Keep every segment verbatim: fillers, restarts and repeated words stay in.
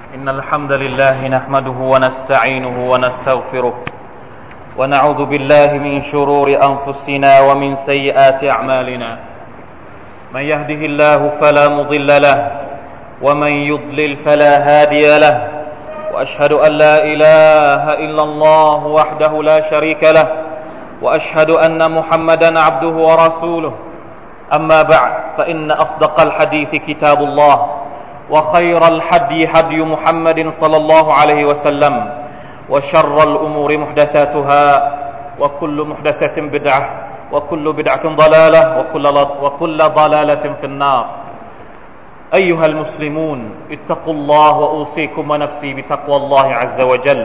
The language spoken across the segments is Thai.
إن الحمد لله نحمده ونستعينه ونستغفره ونعوذ بالله من شرور أنفسنا ومن سيئات أعمالنا من يهده الله فلا مضل له ومن يضلل فلا هادي له وأشهد أن لا إله إلا الله وحده لا شريك له وأشهد أن محمدا عبده ورسوله أما بعد فإن أصدق الحديث كتاب الله وخير الحدي حدي محمد صلى الله عليه وسلم وشر الأمور محدثاتها وكل محدثة بدعة وكل بدعة ضلالة وكل وكل ضلالة في النار أيها المسلمون اتقوا الله وأوصيكم ونفسي بتقوى الله عز وجل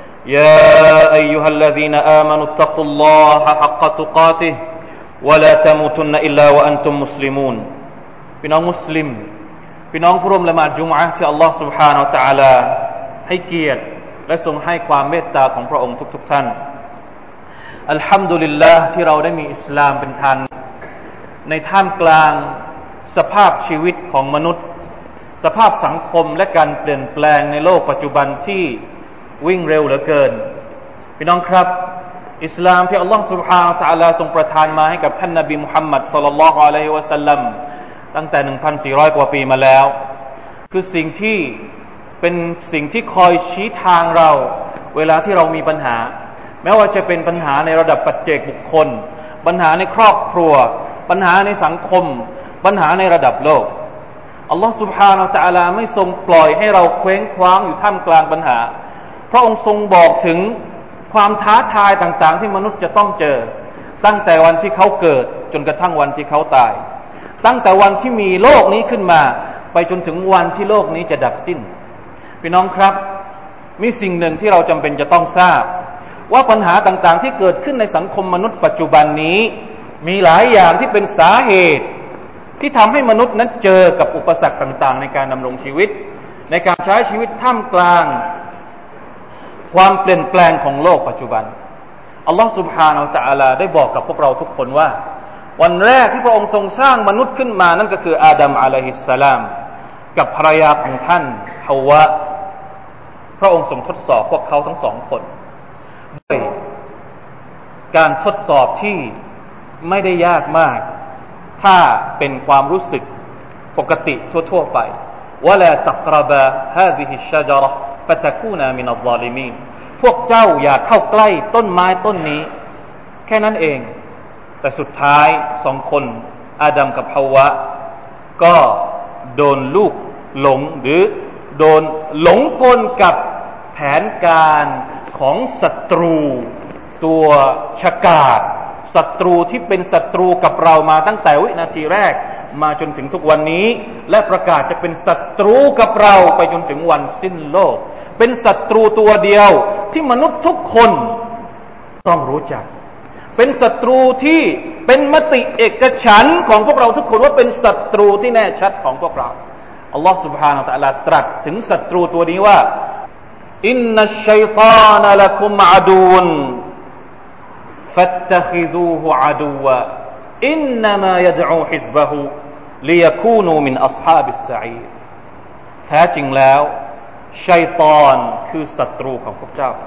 يا أيها الذين آمنوا اتقوا الله حق تقاته ولا تموتن إلا وأنتم مسلمون พี่น้องมุสลิมพี่น้องผู้ร่วมละหมาดจุมอะห์ที่อัลลอฮฺ سبحانه และ تعالى ให้เกียรติและทรงให้ความเมตตาของพระองค์ทุกๆท่านอัลฮัมดุลิลลาห์ที่เราได้มีอิสลามเป็นทางในท่ามกลางสภาพชีวิตของมนุษย์สภาพสังคมและการเปลี่ยนแปลงในโลกปัจจุบันที่วิ่งเร็วเหลือเกินพี่น้องครับอิสลามที่อัลลอฮฺ سبحانه และ تعالى ทรงประทานมาให้กับท่านนบีมุฮัมมัดศ็อลลัลลอฮุอะลัยฮิวะซัลลัมตั้งแต่ หนึ่งพันสี่ร้อย กว่าปีมาแล้วคือสิ่งที่เป็นสิ่งที่คอยชี้ทางเราเวลาที่เรามีปัญหาแม้ว่าจะเป็นปัญหาในระดับปัจเจกบุคคลปัญหาในครอบครัวปัญหาในสังคมปัญหาในระดับโลกอัลลอฮฺ سبحانه และ تعالى ไม่ทรงปล่อยให้เราเคว้งคว้างอยู่ท่ามกลางปัญหาพระองค์ทรงบอกถึงความท้าทายต่างๆที่มนุษย์จะต้องเจอตั้งแต่วันที่เขาเกิดจนกระทั่งวันที่เขาตายตั้งแต่วันที่มีโลกนี้ขึ้นมาไปจนถึงวันที่โลกนี้จะดับสิ้นพี่น้องครับมีสิ่งหนึ่งที่เราจำเป็นจะต้องทราบว่าปัญหาต่างๆที่เกิดขึ้นในสังคมมนุษย์ปัจจุบันนี้มีหลายอย่างที่เป็นสาเหตุที่ทำให้มนุษย์นั้นเจอกับอุปสรรคต่างๆในการดำรงชีวิตในการใช้ชีวิตท่ามกลางความเปลี่ยนแปลงของโลกปัจจุบันอัลลอฮฺ سبحانه และ تعالى ได้บอกกับพวกเราทุกคนว่าวันแรกที่พระองค์ทรงสร้างมนุษย์ขึ้นมานั่นก็คืออาดัมอะลัยฮิสสลามกับภรรยาของท่านฮาวะพระองค์ทรงทดสอบพวกเขาทั้งสองคนด้วยการทดสอบที่ไม่ได้ยากมากถ้าเป็นความรู้สึกปกติทั่วๆไปวะลาตักรบะฮาซิฮิชชะญะเราะฮ์ฟะตะกูนามินัซซอลิมีนพวกเจ้าอย่าเข้าใกล้ต้นไม้ต้นนี้แค่นั้นเองแต่สุดท้ายสองคนอาดัมกับฮาวะก็โดนลูกหลงหรือโดนหลงกลกับแผนการของศัตรูตัวฉกาจศัตรูที่เป็นศัตรูกับเรามาตั้งแต่วินาทีแรกมาจนถึงทุกวันนี้และประกาศจะเป็นศัตรูกับเราไปจนถึงวันสิ้นโลกเป็นศัตรูตัวเดียวที่มนุษย์ทุกคนต้องรู้จักเป็นศัตรูที่เป็นมติเอกฉันท์ของพวกเราทุกคนว่าเป็นศัตรูที่แน่ชัดของพวกเราอัลลอฮฺ سبحانه และ تعالى ตรัสถึงศัตรูตัวนี้ว่าอินนัชชัยฏอนะละกุมอะดูวฟัตตะคิซูฮุอะดูวะอินนัมายะดอูฮิซบะฮุลิยะคูนูมินอัศฮาบิสซะอีรแท้จริงแล้วชัยฏอนคือศัตรูของพวกเจ้า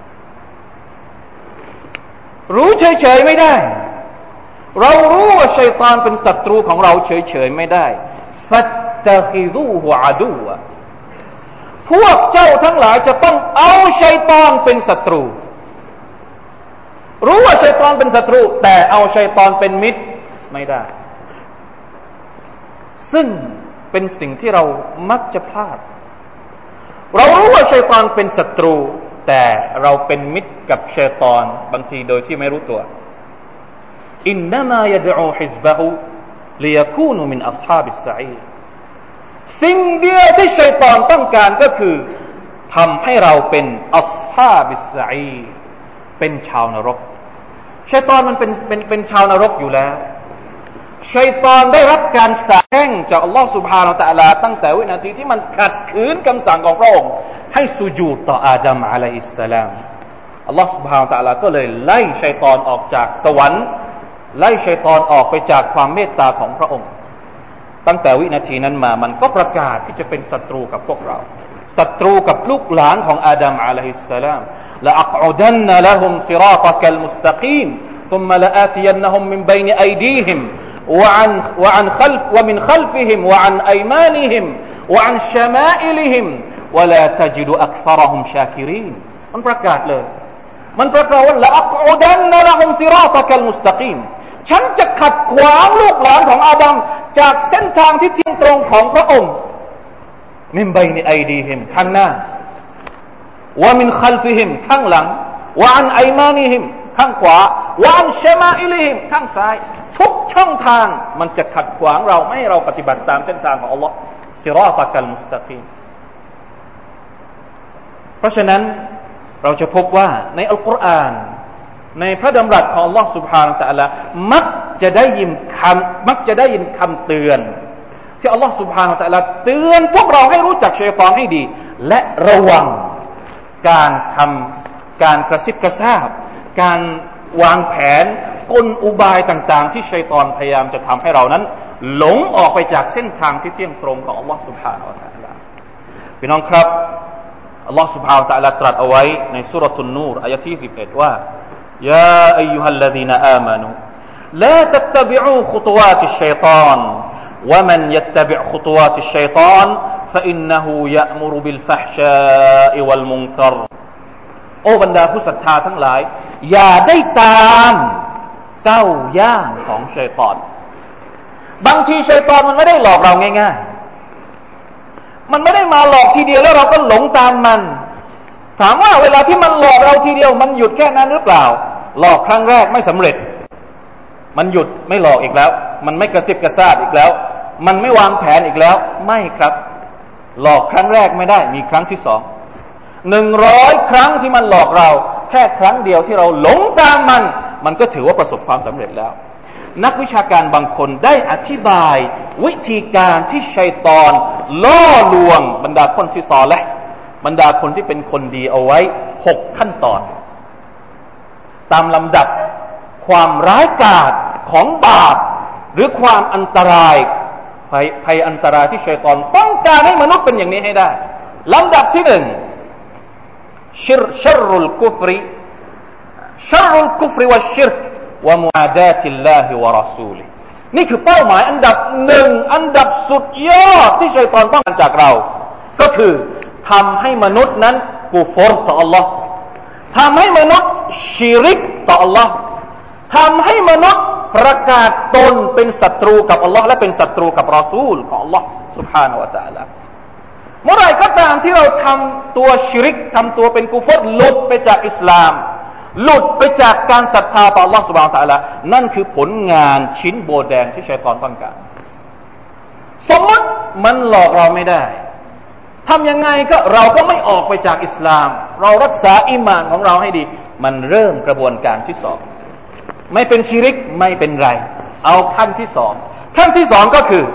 รู้เฉยๆไม่ได้เรารู้ว่าชัยฏอนเป็นศัตรูของเราเฉยๆไม่ได้ฟัตตะคิซูฮุอะดูวะพวกเจ้าทั้งหลายจะต้องเอาชัยฏอนเป็นศัตรูรู้ว่าชัยฏอนเป็นศัตรูแต่เอาชัยฏอนเป็นมิตรไม่ได้ซึ่งเป็นสิ่งที่เรามักจะพลาดเรารู้ว่าชัยฏอนเป็นศัตรูแต่เราเป็นมิตรกับชัยฏอนบางทีโดยที่ไม่รู้ตัวอินนามายะดอูฮิซบะฮุลิยะคูนูมินอัศฮาบิสซะอีรสิ่งเดียวที่ชัยฏอนต้องการก็คือทำให้เราเป็นอัศฮาบิสซะอีรเป็นชาวนรกชัยฏอนมันเป็นเป็นเป็นชาวนรกอยู่แล้วชัยฏอนได้รับการสาแช่งจากอัลลอฮฺ سبحانه และ تعالى ตั้งแต่วินาทีที่มันขัดขืนคำสั่งของพระองค์ให้สุญูดต่ออาดัมอะลัยฮิสสลามอัลลอฮฺ سبحانه และ تعالى ก็เลยไล่ชัยฏอนออกจากสวรรค์ไล่ชัยฏอนออกไปจากความเมตตาของพระองค์ตั้งแต่วินาทีนั้นมามันก็ประกาศที่จะเป็นศัตรูกับพวกเราศัตรูกับลูกหลานของอาดัมอะลัยฮิสสลามละอักอุดันนะละฮุมซิราตะกัลมุสตะกีม ثم لآتينهم من بين أيديهم وعن وعن خلف ومن خلفهم وعن أيمانهم وعن شمائلهم ولا تجد أكثرهم شاكرين มันประกาศเลยมันประกาศว่าละอักอุดันนะละฮุมซิราตะกัลมุสตะกีมฉันจะขัดขวางลูกหลานของอาดัมจากเส้นทางที่เที่ยงตรงของพระองค์มินบัยนิอัยดีฮิมข้างหน้าวะมินคัลฟิฮิมข้างหลังวะอันอัยมานิฮิมข้างขวาวะอันชะมาอิลิฮิมข้างซ้ายทุกช่องทางมันจะขัดขวางเราไม่ให้เราปฏิบัติตามเส้นทางของอัลลอฮ์ซิราตะกัลมุสตะกีมเพราะฉะนั้นเราจะพบว่าในอัลกุรอานในพระดำรัสของอัลลอฮ์ سبحانه และ تعالى มักจะได้ยินคำมักจะได้ยินคำเตือนที่อัลลอฮ์ سبحانه และ تعالى เตือนพวกเราให้รู้จักชัยฏอนให้ดีและระวังการทำการกระซิบกระซาบการวางแผนกลอุบายต่างๆที่ชัยฏอนพยายามจะทำให้เรานั้นหลงออกไปจากเส้นทางที่เที่ยงตรงของอัลลอฮ์ سبحانه และ تعالى พี่น้องครับอัลลอฮ์ سبحانه และ تعالى ตรัสเอาไว้ในซูเราะตุนนูรอายะที่สิบเอ็ดว่า يا أيها الذين آمنوا لا تتبعوا خطوات الشيطان ومن يتبع خطوات الشيطان فإنه يأمر بالفحشاء والمنكر โอ้บรรดาผู้ศรัทธาทั้งหลายอย่าได้ตามก้าวย่างของชัยฏอนบางทีชัยฏอนมันไม่ได้หลอกเราง่ายๆมันไม่ได้มาหลอกทีเดียวแล้วเราก็หลงตามมันถามว่าเวลาที่มันหลอกเราทีเดียวมันหยุดแค่นั้นหรือเปล่าหลอกครั้งแรกไม่สำเร็จมันหยุดไม่หลอกอีกแล้วมันไม่กระซิบกระซาบอีกแล้วมันไม่วางแผนอีกแล้วไม่ครับหลอกครั้งแรกไม่ได้มีครั้งที่สองหนึ่งร้อยครั้งที่มันหลอกเราแค่ครั้งเดียวที่เราหลงตามมันมันก็ถือว่าประสบความสำเร็จแล้วนักวิชาการบางคนได้อธิบายวิธีการที่ชัยฏอนล่อลวงบรรดาคนที่ซอลิห์บรรดาคนที่เป็นคนดีเอาไว้หกขั้นตอนตามลำดับความร้ายกาจของบาปหรือความอันตรายภัยภัยอันตรายที่ชัยฏอนต้องการให้มนุษย์เป็นอย่างนี้ให้ได้ลำดับที่หนึ่งชิรชัรรุลกุฟรีชัรรุลกุฟรีวะชิรกวะมุอาดาติลลาฮิวะรอซูลินี่คือเป้าหมายอันดับหนึ่งอันดับสุดยอดที่ชัยฏอนต้องการจากเราก็คือทำให้มนุษย์นั้นกุฟรต่อ Allah ทำให้มนุษย์ชิริกต่อ Allah ทำให้มนุษย์ประกาศตนเป็นศัตรูกับ Allah และเป็นศัตรูกับรอซูลของ Allah سبحانه และ تعالى เมื่อไรก็ตามที่เราทำตัวชิริกทำตัวเป็นกุฟรหลุดไปจากอิสลามหลุดไปจากการศรัทธาต่อ Allah سبحانه และ تعالى นั่นคือผลงานชิ้นโบแดงที่ชัยฏอนต้องการสมมติมันหลอกเราไม่ได้ทำยังไงก็เราก็ไม่ออกไปจากอิสลามเรารักษาอีหม่านของเราให้ดีมันเริ่มกระบวนการที่สองไม่เป็นชิริกไม่เป็นไรเอาขั้นที่สองขั้นที่สองก็คือ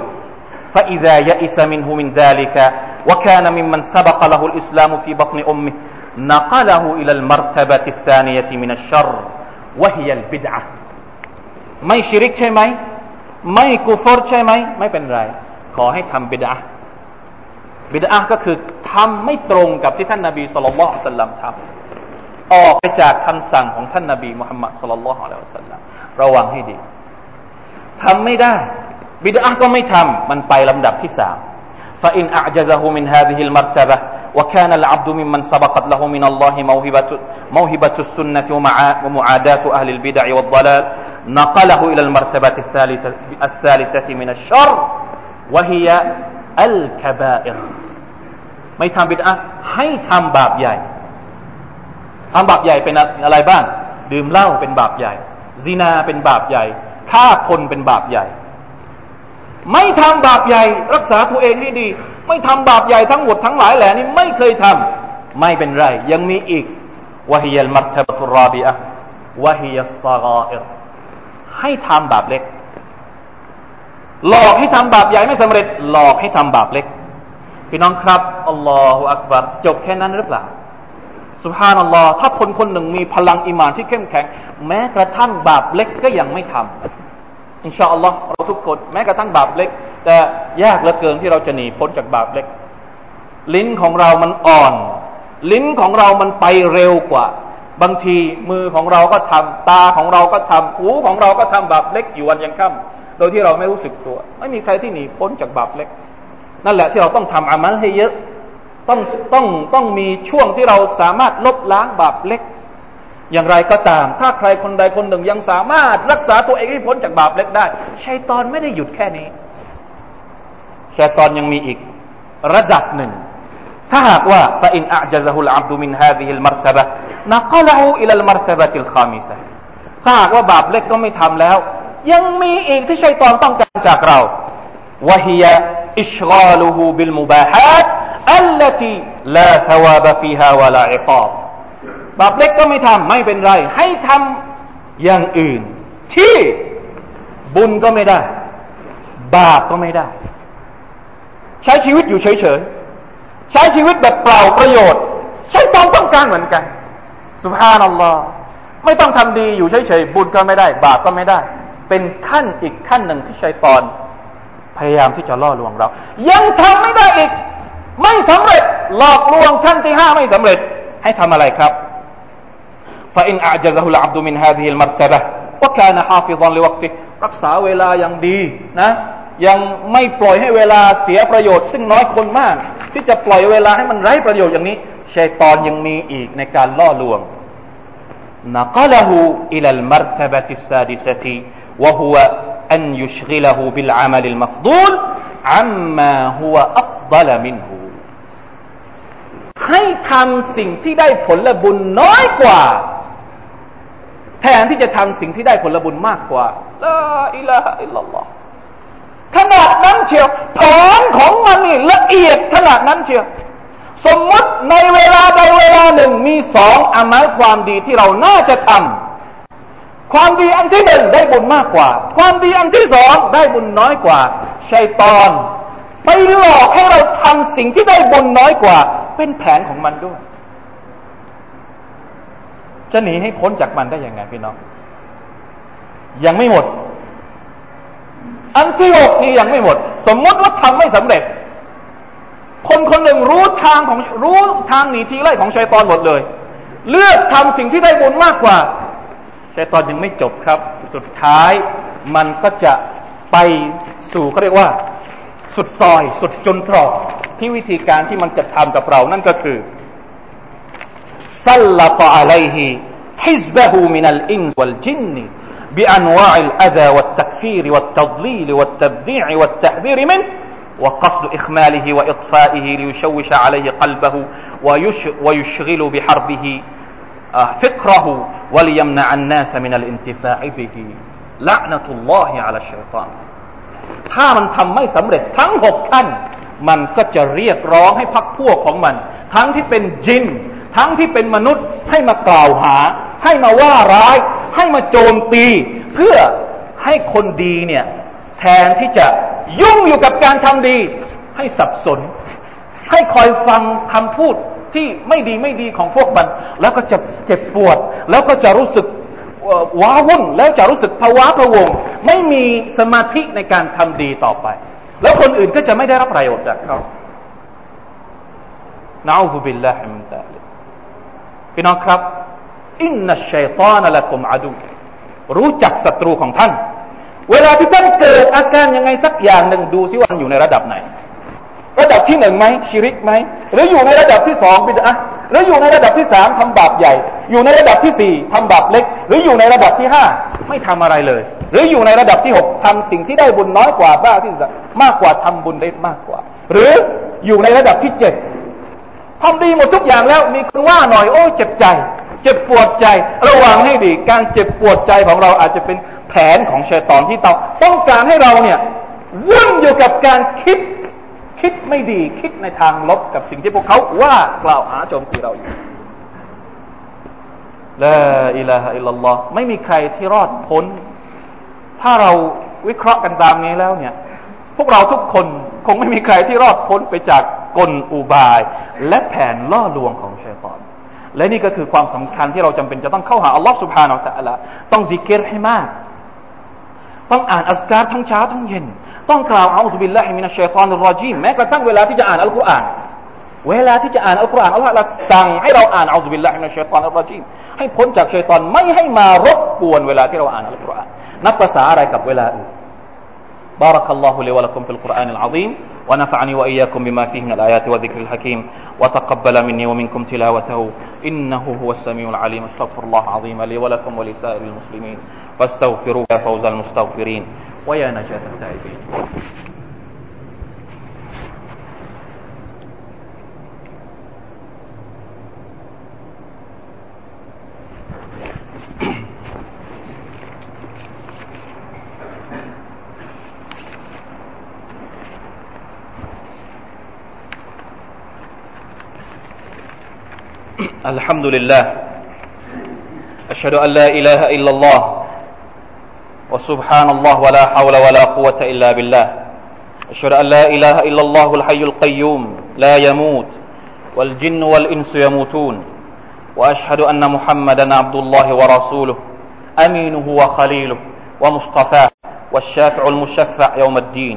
فإذا يئس منه من ذلك وكان ممن سبق له الإسلام في بطن أمه نقله إلى المرتبة الثانية من الشر وهي البدعة ไม่ชิริกใช่ไหมไม่กุฟรใช่ไหมไม่เป็นไรขอให้ทำบิดอะห์บิดอะห์ก็คือทำไม่ตรงกับที่ท่านนบีศ็อลลัลลอฮุอะลัยฮิวะซัลลัมทำออกไปจากคำสั่งของท่านนบีมุฮัมมัดศ็อลลัลลอฮุอะลัยฮิวะซัลลัมระวังให้ดีทำไม่ได้บิดอะห์ก็ไม่ทำมันไปลำดับที่สามفإن أعجزه من هذه المرتبة وكان العبد ممن سبقت له من الله موهبة موهبة السنة ومعاداة أهل البدع والضلال نقله إلى المرتبة الثالثة الثالثة من الشر وهي الكبائر ไม่ทำบิดอะห์ให้ทำบาปใหญ่ทำบาปใหญ่เป็นอะไรบ้างดื่มเหล้าเป็นบาปใหญ่ซินาเป็นบาปใหญ่ฆ่าคนเป็นบาปใหญ่ไม่ทำบาปใหญ่รักษาตัวเองให้ดีไม่ทำบาปใหญ่ทั้งหมดทั้งหลายแหล่นี้ไม่เคยทำไม่เป็นไรยังมีอีกวะฮิยัลมัรตะบะตุรรอบิอะห์วะฮิยัสศฆาอิรให้ทำบาปเล็กหลอกให้ทำบาปใหญ่ไม่สำเร็จหลอกให้ทำบาปเล็กพี่น้องครับอัลลอฮฺอักบัรจบแค่นั้นหรือเปล่าซุบฮานัลลอฮ์ถ้าคนคนหนึ่งมีพลังอีหม่านที่เข้มแข็งแม้กระทั่งบาปเล็กก็ยังไม่ทำอินชาอัลลอฮ์เราทุกคนแม้กระทั่งบาปเล็กแต่ยากเหลือเกินที่เราจะหนีพ้นจากบาปเล็กลิ้นของเรามันอ่อนลิ้นของเรามันไปเร็วกว่าบางทีมือของเราก็ทำตาของเราก็ทำหูของเราก็ทำบาปเล็กอยู่วันยังค่ำโดยที่เราไม่รู้สึกตัวไม่มีใครที่หนีพ้นจากบาปเล็กนั่นแหละที่เราต้องทำอามัลให้เยอะต้องต้องต้องมีช่วงที่เราสามารถลบล้างบาปเล็กอย่างไรก็ตามถ้าใครคนใดคนหนึ่งยังสามารถรักษาตัวเองให้พ้นจากบาปเล็กได้ชัยฏอนไม่ได้หยุดแค่นี้ชัยฏอนยังมีอีกระดับหนึ่งถ้าหากว่า فإن أعجزه العبد من هذه المرتبة نقله إلى المرتبة الخامسة ถ้าหากว่าบาปเล็กก็ไม่ทำแล้วยังมีอีกที่ชัยฏอนต้องการจากเรา وهي إشغاله بالمباحات التي لا ثواب فيها ولا عقاب บาปเล็กก็ไม่ทำไม่เป็นไรให้ทำอย่างอื่นที่บุญก็ไม่ได้บาปก็ไม่ได้ใช้ชีวิตอยู่เฉยๆใช้ชีวิตแบบเปล่าประโยชน์ชัยฏอนต้องการเหมือนกันซุบฮานัลลอฮ์ไม่ต้องทำดีอยู่เฉยๆบุญก็ไม่ได้บาปก็ไม่ได้เป็นขั้นอีกขั้นหนึ่งที่ชัยฏอนพยายามที่จะล่อลวงเรายังทำไม่ได้อีกไม่สำเร็จหลอกลวงขั้นที่ห้าไม่สำเร็จให้ทำอะไรครับ فإن أعجزه العبد من هذه المرتبة وكان حافظا لوقته รักษาเวลาอย่างดีนะยังไม่ปล่อยให้เวลาเสียประโยชน์ซึ่งน้อยคนมากที่จะปล่อยเวลาให้มันไร้ประโยชน์อย่างนี้ชัยฏอนยังมีอีกในการล่อลวง نقله إلى المرتبة السادسة وهو أن يشغله بالعمل المفضول عما هو أفضل منه ให้ทำสิ่งที่ได้ผลบุญน้อยกว่าแทนที่จะทำสิ่งที่ได้ผลบุญมากกว่าลาอิลาฮะอิลลัลลอฮ์ขนาดนั้นเชียวแผนของมันนี่ละเอียดขนาดนั้นเชียวสมมติในเวลาใดเวลาหนึ่งมีสองอามัลความดีที่เราน่าจะทำความดีอันที่หนึ่งได้บุญมากกว่าความดีอันที่สองได้บุญน้อยกว่าชัยฏอนไปหลอกให้เราทำสิ่งที่ได้บุญน้อยกว่าเป็นแผนของมันด้วยจะหนีให้พ้นจากมันได้ยังไงพี่น้องยังไม่หมดอันที่หกนี่ยังไม่หมดสมมติว่าทำไม่สำเร็จคนคนหนึ่งรู้ทางของรู้ทางหนีทีไล่ของชัยฏอนหมดเลยเลือกทำสิ่งที่ได้บุญมากกว่าชัยฏอนยังไม่จบครับสุดท้ายมันก็จะไปสู่เขาเรียกว่าสุดซอยสุดจนตรอกที่วิธีการที่มันจะทำกับเรานั่นก็คือซัลลัตอะลัยฮิฮิซบะฮูมินัลอินซวัลจินبأنواع الأذى والتكفير والتضليل والتبديع والتحذير منه وقصد إخماله وإطفائه ليشوش عليه قلبه ويشغل بحربه فكره وليمنع الناس من الانتفاع به لعنة الله على الشيطان ถ้ามันทำไม่สำเร็จทั้งหกขั้นมันก็จะเรียกร้องให้พรรคพวกของมันทั้งที่เป็นจินทั้งที่เป็นมนุษย์ให้มากล่าวหาให้มาว่าร้ายให้มาโจมตีเพื่อให้คนดีเนี่ยแทนที่จะยุ่งอยู่กับการทำดีให้สับสนให้คอยฟังคำพูดที่ไม่ดีไม่ดีของพวกมันแล้วก็จะเจ็บปวดแล้วก็จะรู้สึกว้าวุ่นแล้วจะรู้สึกภาวะพะวงไม่มีสมาธิในการทำดีต่อไปแล้วคนอื่นก็จะไม่ได้รับประโยชน์จากเขานะอูซุบิลลาฮิมินซาลิกพี่น้องครับอินนัชชัยฏอนละกุมอะดูรู้จักศัตรูของท่านเวลาที่ท่านเกิดอาการยังไงสักอย่างหนึ่งดูซิว่ามันอยู่ในระดับไหนระดับที่หนึ่งไหมชิริกไหมหรืออยู่ในระดับที่สองบิดอะห์หรืออยู่ในระดับที่สามทำบาปใหญ่อยู่ในระดับที่สี่ทำบาปเล็กหรืออยู่ในระดับที่ห้าไม่ทำอะไรเลยหรืออยู่ในระดับที่หกทำสิ่งที่ได้บุญน้อยกว่าบ้าที่จะมากกว่าทำบุญได้มากกว่าหรืออยู่ในระดับที่เจ็ดทำดีหมดทุกอย่างแล้วมีคนว่าหน่อยโอ้เจ็บใจเจ็บปวดใจระวังให้ดีการเจ็บปวดใจของเราอาจจะเป็นแผนของชัยฏอนที่ต้องต้องการให้เราเนี่ยวุ่นอยู่กับการคิดคิดไม่ดีคิดในทางลบกับสิ่งที่พวกเขาว่ากล่าวหาโจมตีเราอยู่ลาอิลาฮะอิลลัลลอฮ์ไม่มีใครที่รอดพ้นถ้าเราวิเคราะห์กันตามนี้แล้วเนี่ยพวกเราทุกคนคงไม่มีใครที่รอดพ้นไปจากกลอุบายและแผนล่อลวงของชัยฏอนและนี่ก็คือความสำคัญที่เราจำเป็นจะต้องเข้าหาอัลลอฮ์ سبحانه และ تعالى ต้องซิกรให้มากต้องอ่านอัซการทั้งเช้าทั้งเย็นต้องกล่าวอะอูซุบิลลาฮิมินัชชัยฏอนิรเราะญีมแม้กระทั่งเวลาที่จะอ่านอัลกุรอานเวลาที่จะอ่านอัลกุรอานอัลลอฮฺละสั่งให้เราอ่านเอาซุบิลลาฮิมินัชชัยฏอนิรเราะญีมให้พ้นจากชัยฏอนไม่ให้มารบกวนเวลาที่เราอ่านอัลกุรอานนับภาษาอะไรกับเวลาอื่น بارك الله لي ولكم في القرآن العظيم ونفعني وإياكم بما فيه من الآيات والذكر الحكيم وتقبل مني ومنكم تلاوته إنه هو السميع العليم استغفر الله العظيم لي ولكم ولسائر المسلمين فاستغفروه يا فوز المستغفرين ويا نجاة التائبين الحمد لله أشهد أن لا إله إلا الله وسبحان الله ولا حول ولا قوة إلا بالله أشهد أن لا إله إلا الله الحي القيوم لا يموت والجن والإنس يموتون وأشهد أن محمدا عبد الله ورسوله أمينه وخليله ومصطفاه والشافع المشفع يوم الدين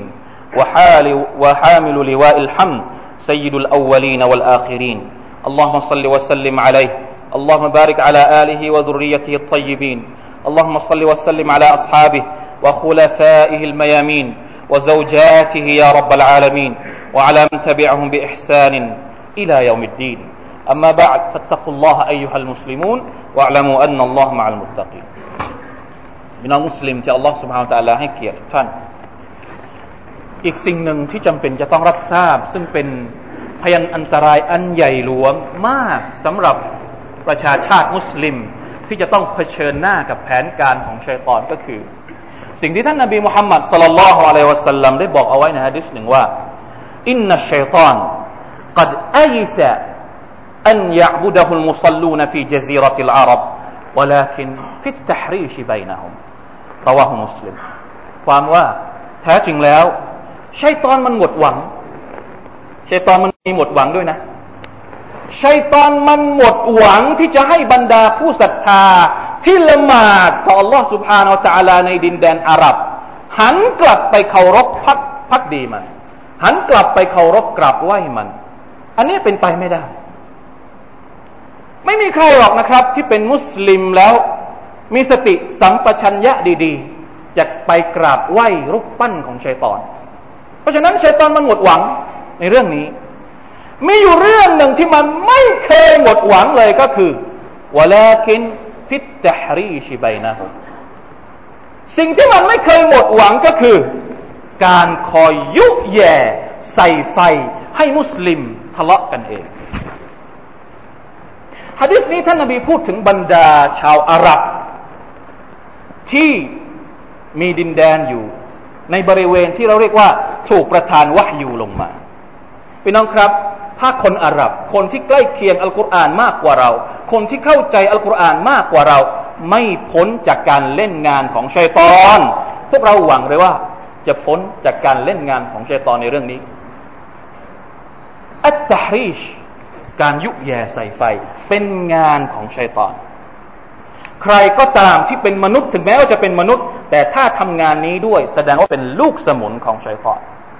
وحامل لواء الحمد سيد الأولين والآخرين اللهم صل وسلم عليه اللهم بارك على آله وذريته الطيبين اللهم صل وسلم على أصحابه وخلفائه الميامين وزوجاته يا رب العالمين وعلى من تبعهم بإحسان إلى يوم الدين أما بعد فاتقوا الله أيها المسلمون واعلموا أن الله مع المتقين พี่น้องมุสลิมที่อัลลอฮฺ سبحانه และ تعالى ให้เกียรติทุกท่านอีกสิ่งหนึ่งที่จำเป็นจะต้องรับทราบซึ่งเป็นพยันอันตรายอันใหญ่หลวงมากสำหรับประชาชาติมุสลิมที่จะต้องเผชิญหน้ากับแผนการของชัยฏอนก็คือสิ่งที่ท่านนบีมุฮัมมัดศ็อลลัลลอฮุอะลัยฮิวะซัลลัมได้บอกเอาไว้ในหะดีษหนึ่งว่าอินนัชชัยฏอนกัดอัยซะอันยะอ์บุดะฮุลมุศ็อลลูนฟีญะซีเราะติลอารับวะลาคินฟิตตัฮรีชบัยนะฮุมรอวาฮุมุสลิมความว่าแท้จริงแล้วชัยฏอนมันหมดหวังชัยฏอนมันมีหมดหวังด้วยนะชัยฏอนมันหมดหวังที่จะให้บรรดาผู้ศรัทธาที่ละหมาดต่อ Allah سبحانه และ تعالى ในดินแดนอาหรับหันกลับไปเคารพพักพักดีมันหันกลับไปเคารพกราบไหว้มันอันนี้เป็นไปไม่ได้ไม่มีใครหรอกนะครับที่เป็นมุสลิมแล้วมีสติสัมปชัญญะดีๆจะไปกราบไหว้รูปปั้นของชัยฏอนเพราะฉะนั้นชัยฏอนมันหมดหวังในเรื่องนี้มีอยู่เรื่องหนึ่งที่มันไม่เคยหมดหวังเลยก็คือวะลาคินฟิตตะฮรีชบัยนะฮุมสิ่งที่มันไม่เคยหมดหวังก็คือการคอยยุแย่ใส่ไฟให้มุสลิมทะเลาะกันเองหะดีษนี้ท่านนบีพูดถึงบรรดาชาวอาหรับที่มีดินแดนอยู่ในบริเวณที่เราเรียกว่าถูกประทานวะฮยูลงมาพี่น้องครับถ้าคนอาหรับคนที่ใกล้เคียงอัลกุรอานมากกว่าเราคนที่เข้าใจอัลกุรอานมากกว่าเราไม่พ้นจากการเล่นงานของชัยฏอนพวกเราหวังเลยว่าจะพ้นจากการเล่นงานของชัยฏอนในเรื่องนี้อัตตะฮรีชการยุแย่ใส่ไฟเป็นงานของชัยฏอนใครก็ตามที่เป็นมนุษย์ถึงแม้ว่าจะเป็นมนุษย์แต่ถ้าทำงานนี้ด้วยแสดงว่าเป็นลูกสมุนของชัยฏอน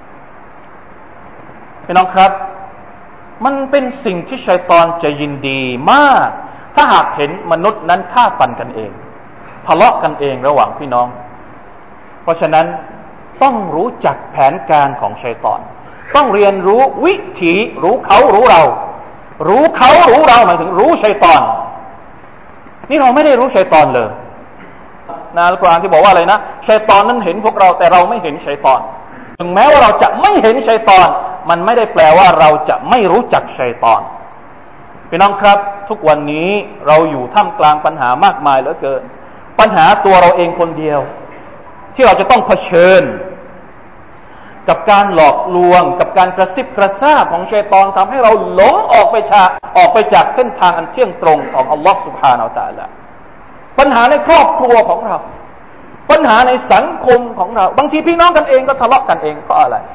พี่น้องครับมันเป็นสิ่งที่ชัยฏอนจะยินดีมากถ้าหากเห็นมนุษย์นั้นฆ่าฟันกันเองทะเลาะกันเองระหว่างพี่น้องเพราะฉะนั้นต้องรู้จักแผนการของชัยฏอนต้องเรียนรู้วิถีรู้เขารู้เรารู้เขารู้เราหมายถึงรู้ชัยฏอนนี่เราไม่ได้รู้ชัยฏอนเลยในอัลกุรอานที่บอกว่าอะไรนะชัยฏอนนั้นเห็นพวกเราแต่เราไม่เห็นชัยฏอนถึงแม้ว่าเราจะไม่เห็นชัยฏอนมันไม่ได้แปลว่าเราจะไม่รู้จักชัยฏอนพี่น้องครับทุกวันนี้เราอยู่ท่ามกลางปัญหามากมายเหลือเกินปัญหาตัวเราเองคนเดียวที่เราจะต้องเผชิญกับการหลอกลวงกับการกระซิบกระซาบของชัยฏอนทำให้เราหลงออกไปจากออกไปจากเส้นทางอันเที่ยงตรงของอัลลอฮฺ سبحانه และ تعالى ปัญหาในครอบครัวของเราปัญหาในสังคมของเราบางทีพี่น้องกันเองก็ทะเลาะกันเองเพราะอะไร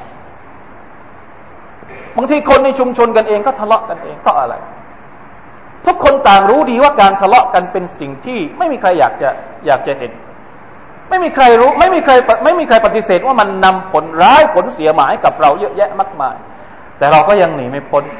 บางทีคนในชุมชนกันเองก็ทะเลาะกันเองเพราะอะไรทุกคนต่างรู้ดีว่าการทะเลาะกันเป็นสิ่งที่ไม่มีใครอยากจะอยากจะเห็นไม่มีใครรู้ไม่มีใครไม่มีใครปฏิเสธว่ามันนำผลร้ายผลเสียหายกับเราเยอะแยะมากมายแต่เราก็ยังหนีไม่พ้น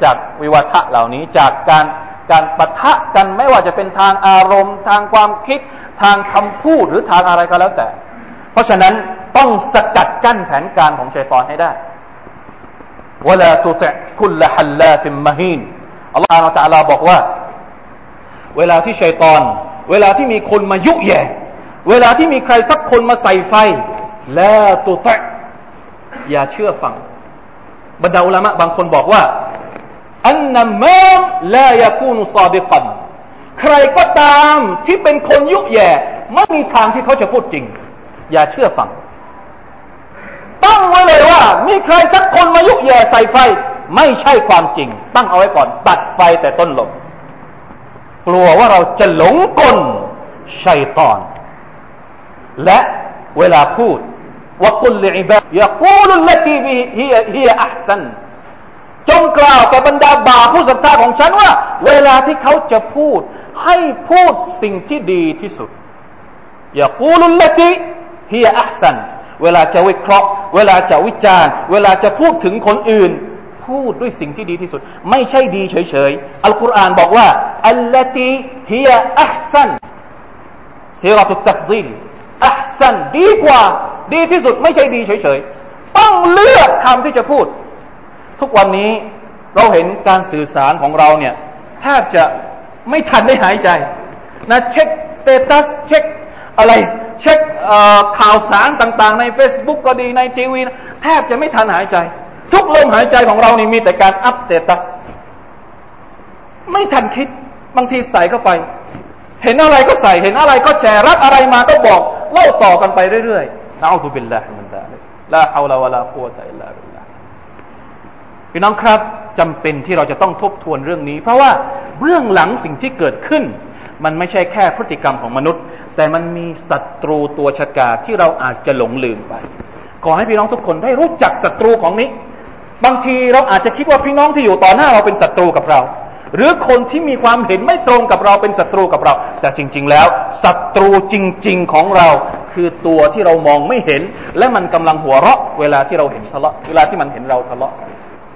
จากวิวัฒะเหล่านี้จากการการปะทะกันไม่ว่าจะเป็นทางอารมณ์ทางความคิดทางคำพูดหรือทางอะไรก็แล้วแต่เพราะฉะนั้นต้องสกัดกั้นแผนการของชัยฏอนให้ได้วะลาตุติอ์คุลฮัลลาฟิมมะฮีนอัลลอฮฺตะอาลาบอกว่าเวลาที่ชัยฏอนเวลาที่มีคนมายุแย่เวลาที่มีใครสักคนมาใส่ไฟลาตุติอ์อย่าเชื่อฟังบรรดาอุลามะบางคนบอกว่าอันนัมมามลายะกูนุซอดิกันใครก็ตามที่เป็นคนยุแย่ไม่มีทางที่เขาจะพูดจริงอย่าเชื่อฟังตั้งไว้เลยว่ามีใครสักคนมายุแย่ใส่ไฟไม่ใช่ความจริงตั้งเอาไว้ก่อนตัดไฟแต่ต้นลมกลัวว่าเราจะหลงกลชัยฏอนและเวลาพูดวะกุลลิอิบาดยะกูลุลลตีฮิยะฮิยะอัห์ซันจงกล่าวแก่บรรดาบ่าวผู้ศรัทธาของฉันว่าเวลาที่เขาจะพูดให้พูดสิ่งที่ดีที่สุดยะกูลุลลตีฮิยะอัห์ซันเวลาจะวิเคราะห์เวลาจะวิจารณ์เวลาจะพูดถึงคนอื่นพูดด้วยสิ่งที่ดีที่สุดไม่ใช่ดีเฉยๆอัลกุรอานบอกว่าอัลลตีฮิยะอัห์ซันซีเราะตุตตัฟฎีลอัห์ซันดีกว่าดีที่สุดไม่ใช่ดีเฉยๆต้องเลือกคำที่จะพูดทุกวันนี้เราเห็นการสื่อสารของเราเนี่ยแทบจะไม่ทันได้หายใจนะเช็คสเตตัสเช็คอะไรเช็คข่าวสารต่างๆใน Facebook ก็ดีในทีวีแทบจะไม่ทันหายใจทุกลมหายใจของเรานี่มีแต่การอัพสเตตัสไม่ทันคิดบางทีใส่เข้าไปเห็นอะไรก็ใส่เห็นอะไรก็แชร์รับอะไรมาก็บอกเล่าต่อกันไปเรื่อยๆนะอูซุบิลลาฮิมินซาลิกลาฮาวลาวะลากุวะตะอิลลาบิลลาฮ์พี่น้องครับจำเป็นที่เราจะต้องทบทวนเรื่องนี้เพราะว่าเบื้องหลังสิ่งที่เกิดขึ้นมันไม่ใช่แค่พฤติกรรมของมนุษย์แต่มันมีศัตรูตัวฉกาจที่เราอาจจะหลงลืมไปขอให้พี่น้องทุกคนได้รู้จักศัตรูของนี้บางทีเราอาจจะคิดว่าพี่น้องที่อยู่ต่อหน้าเราเป็นศัตรูกับเราหรือคนที่มีความเห็นไม่ตรงกับเราเป็นศัตรูกับเราแต่จริงๆแล้วศัตรูจริงๆของเราคือตัวที่เรามองไม่เห็นและมันกำลังหัวเราะเวลาที่เราเห็นทะเลาะเวลาที่มันเห็นเราทะเลาะ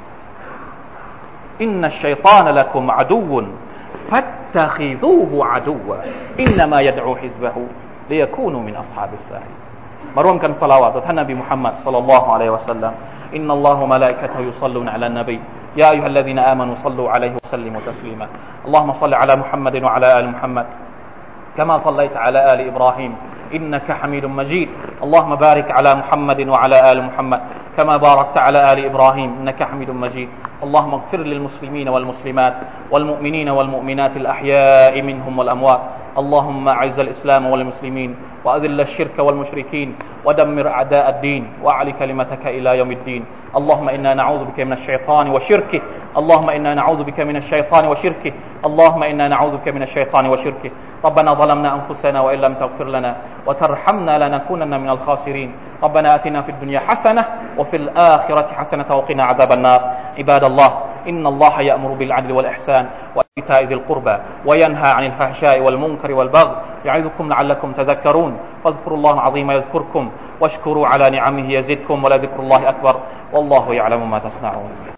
อินนัชชัยฏอนละกุมอะดูวุนฟัตตะคิซูฮุอะดูวะอินนามายะดอูฮิซบะฮูลิยะคูนูมินอัศฮาบิสซาอิมาร่วมกันศอลาวาตต่อท่านนบีมุฮัมมัดศ็อลลัลลอฮุอะลัยฮิวะซัลลัมอินนัลลอฮะวะมะลาอิกะตุฮุยุศ็อลลูนอะลันนบีيا أيها الذين آمنوا صلوا عليه وسلموا تسليما اللهم صل على محمد وعلى آل محمد كما صليت على آل إبراهيم إنك حميد مجيد اللهم بارك على محمد وعلى آل محمد كما باركت على آل إبراهيم إنك حميد مجيد اللهم اغفر للمسلمين والمسلمات والمؤمنين والمؤمنات الأحياء منهم والأموات اللهم أعز الإسلام والمسلمين وأذل الشرك والمشركين ودمر أعداء الدين وأعل كلمتك إلى يوم الدين اللهم إنا نعوذ بك من الشيطان وشركه اللهم إنا نعوذ بك من الشيطان وشركه اللهم إنا نعوذ بك من الشيطان وشركه ربنا ظلمنا أنفسنا وإن لم تغفر لنا وترحمنا لنكونن من الخاسرين ربنا آتنا في الدنيا حسنة وفي الآخرة حسنة وقنا عذاب النار عباد الله إن الله يأمر بالعدل والإحسان وإيتاء ذي القربى وينهى عن الفحشاء والمنكر والبغي يعظكم لعلكم تذكرون فاذكروا الله العظيم يذكركم واشكروا على نعمه يزدكم ولذكر الله أكبر والله يعلم ما تصنعون